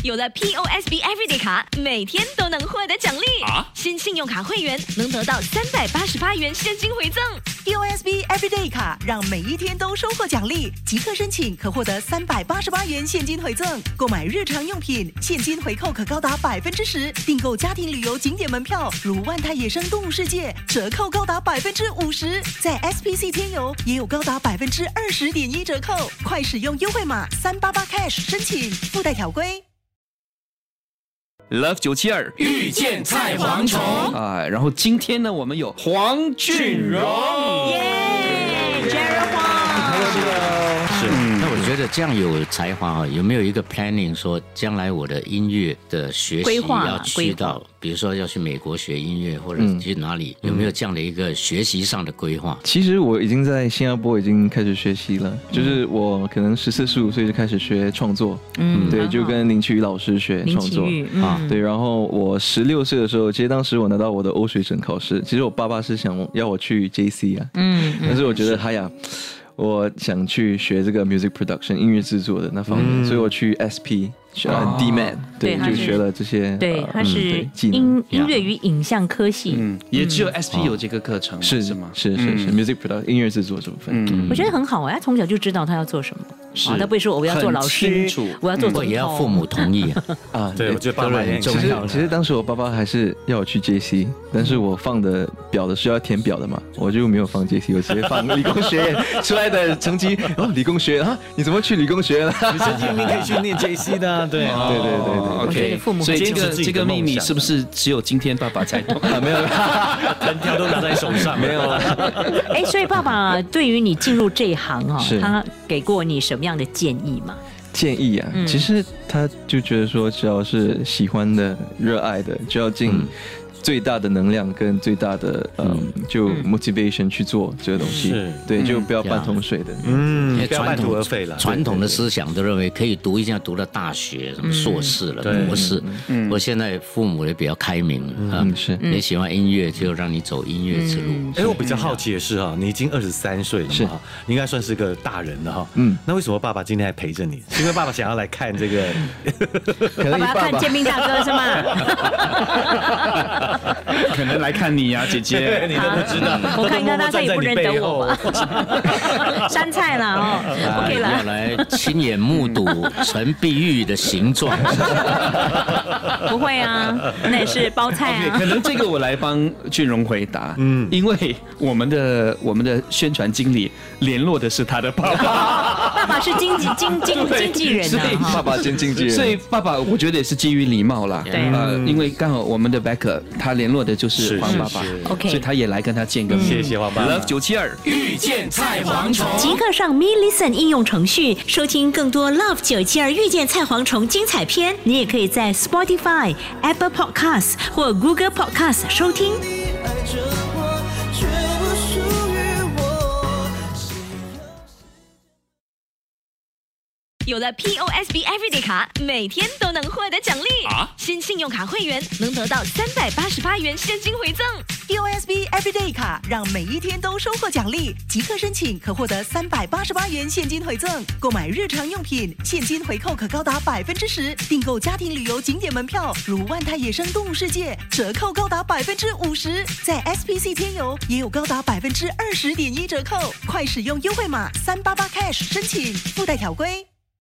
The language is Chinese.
有了 POSB Everyday 卡，每天都能获得奖励新信用卡会员能得到388元现金回赠。 POSB Everyday 卡让每一天都收获奖励，即刻申请可获得388元现金回赠。购买日常用品，现金回扣可高达10%；订购家庭旅游景点门票，如万泰野生动物世界，折扣高达50%。在 SPC 天游也有高达20.1%折扣，快使用优惠码388cash申请，附带条规。 Love 972 遇见菜蝗虫然后今天呢，我们有黄俊荣， 耶 ，Jerry 黄， 是。 那我觉得这样有才华有没有一个 planning 说将来我的音乐的学习要去到，比如说要去美国学音乐，或者去哪里，有没有这样的一个学习上的规划？ 其实我已经在新加坡已经开始学习了，就是我可能14、15岁就开始学创作，对，就跟林奇宇老师学创作对，然后我16岁的时候，其实当时我拿到我的欧水准考试，其实我爸爸是想要我去 JC 但是我觉得我想去学这个 music production 音乐制作的那方面，所以我去 SP DMAT 对，就学了这些， 对，它是音乐与影像科系， 也只有 SP 有这个课程，是吗？ 是 music production 音乐制作这部分， 我觉得很好他从小就知道他要做什么，他不会说我要做老师，我要做总统， 也要父母同意对，我觉得爸爸很重要。 其实当时我爸爸还是要我去 JC， 但是我放的表的是要填表的嘛，我就没有放 JC， 我直接放理工学院出来的成绩理工学院你怎么去理工学院呢？ 你成绩明明可以去念 JC 的对 ，OK， 所以这个秘密是不是只有今天爸爸才懂没有， 藤条都拿在手上，没有了。 所以爸爸对于你进入这一行他给过你什么样的建议吗？ 建议其实他就觉得说，只要是喜欢的、热爱的，就要尽最大的能量跟最大的就 motivation 去做这个东西，对，就不要半桶水的， 不要半途而废了。 传统的思想都认为可以读一下读到大学，什么硕士了、博士。我现在父母也比较开明了， 是你喜欢音乐就让你走音乐之路。 我比较好奇的是你已经23岁了嘛，你应该算是个大人了那为什么爸爸今天还陪着你？是因为爸爸想要来看这个？ 爸爸要看建斌大哥是吗？ 可能来看你姐姐， 你都不知道。 我看应该他也不认得我吧？山菜了OK 了。 要来亲眼目睹陈碧玉的形状。 不会那也是包菜可能这个我来帮俊荣回答，因为我们的宣传经理联络的是他的爸爸， 爸爸是经纪人爸爸兼经纪人， 所以爸爸我觉得也是基于礼貌啦，因为刚好我们的 Becker 他联络的就是黄爸爸，OK， 所以他也来跟他见个面。 谢谢黄爸爸。 Love 972 遇见菜蝗虫， 即刻上 Me Listen 应用程序收听更多 Love 972遇见菜蝗虫精彩片。你也可以在 Spotify、Apple Podcasts 或 Google Podcasts 收听。有了 POSB Everyday 卡，每天都能获得奖励新信用卡会员能得到388元现金回赠。 POSB Everyday 卡让每一天都收获奖励，即刻申请可获得388元现金回赠。购买日常用品，现金回扣可高达10%；订购家庭旅游景点门票，如万泰野生动物世界，折扣高达50%。在 SPC 天游也有高达20.1%折扣，快使用优惠码388cash申请，附带条规。